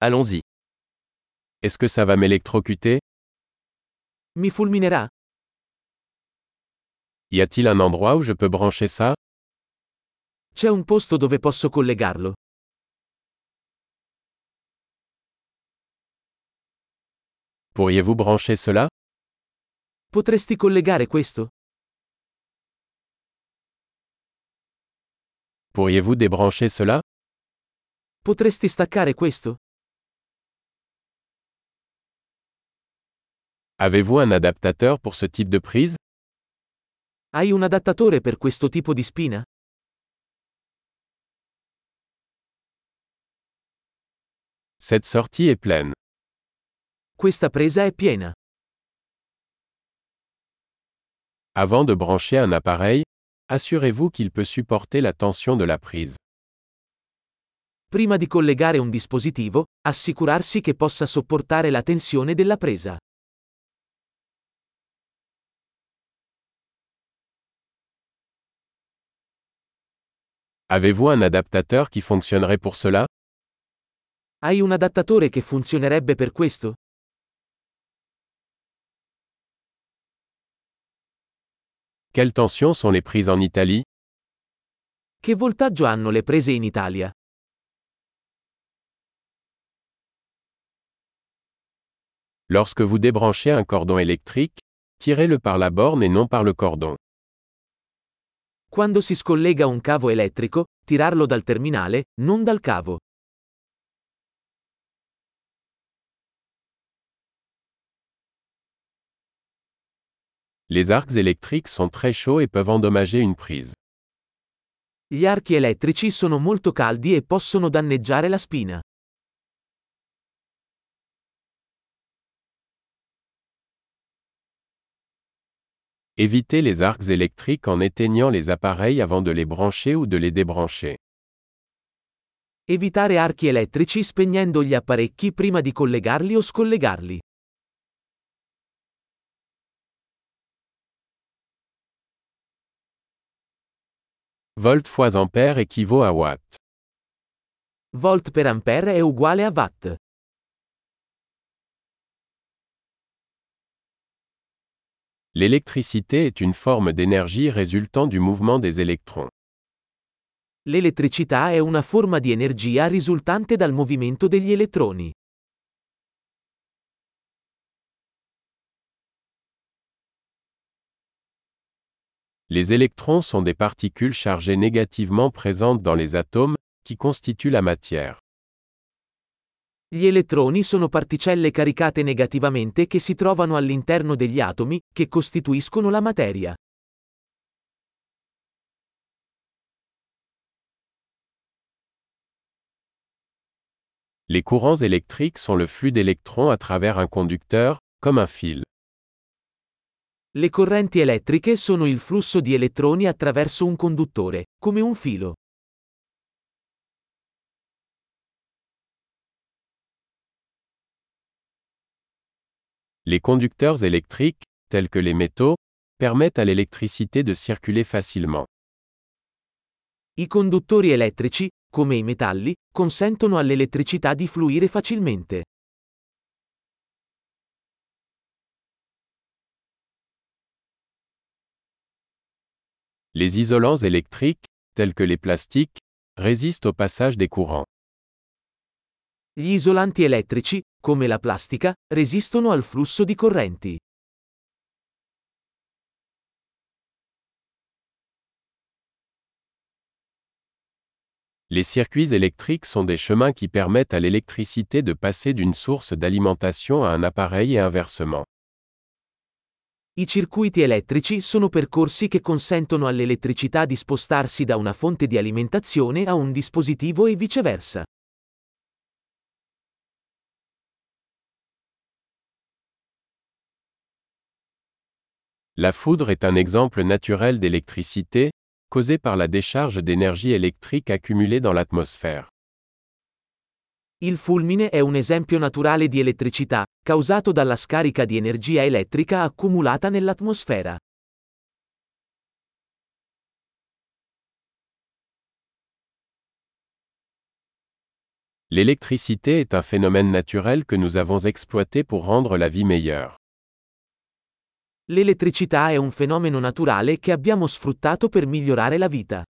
Allons-y. Est-ce que ça va m'électrocuter? Mi fulminerà? Y a-t-il un endroit où je peux brancher ça? C'è un posto dove posso collegarlo? Pourriez-vous brancher cela? Potresti collegare questo? Pourriez-vous débrancher cela? Potresti staccare questo? Avez-vous un adaptateur pour ce type de prise? Hai un adattatore per questo tipo di spina? Cette sortie est pleine. Questa presa è piena. Avant de brancher un appareil, assurez-vous qu'il peut supporter la tension de la prise. Prima di collegare un dispositivo, assicurarsi che possa sopportare la tensione della presa. Avez-vous un adaptateur qui fonctionnerait pour cela? Hai un adattatore che funzionerebbe per questo? Quelles tensions sont les prises en Italie? Che voltaggio hanno le prese in Italia? Lorsque vous débranchez un cordon électrique, tirez-le par la borne et non par le cordon. Quando si scollega un cavo elettrico, tirarlo dal terminale, non dal cavo. Les arcs électriques sont très chauds et peuvent endommager une prise. Gli archi elettrici sono molto caldi e possono danneggiare la spina. Évitez les arcs électriques en éteignant les appareils avant de les brancher ou de les débrancher. Evitare archi elettrici spegnendo gli apparecchi prima di collegarli o scollegarli. Volt fois ampère équivaut à watt. Volt per ampere è uguale a watt. L'électricité est une forme d'énergie résultant du mouvement des électrons. L'elettricità è una forma di energia risultante dal movimento degli elettroni. Les électrons sont des particules chargées négativement présentes dans les atomes, qui constituent la matière. Gli elettroni sono particelle caricate negativamente che si trovano all'interno degli atomi, che costituiscono la materia. Les courants électriques sont le flux d'électrons à travers un conducteur, comme un fil. Le correnti elettriche sono il flusso di elettroni attraverso un conduttore, come un filo. Les conducteurs électriques, tels que les métaux, permettent à l'électricité de circuler facilement. I conduttori elettrici, come i metalli, consentono all'elettricità di fluire facilmente. Les isolants électriques, tels que les plastiques, résistent au passage des courants. Gli isolanti elettrici, come la plastica, resistono al flusso di correnti. Les circuits électriques sont des chemins qui permettent à l'électricité de passer d'une source d'alimentation à un appareil et inversement. I circuiti elettrici sono percorsi che consentono all'elettricità di spostarsi da una fonte di alimentazione a un dispositivo e viceversa. La foudre est un exemple naturel d'électricité, causée par la décharge d'énergie électrique accumulée dans l'atmosphère. Il fulmine è un esempio naturale di elettricità, causato dalla scarica di energia elettrica accumulata nell'atmosfera. L'électricité est un phénomène naturel que nous avons exploité pour rendre la vie meilleure. L'elettricità è un fenomeno naturale che abbiamo sfruttato per migliorare la vita.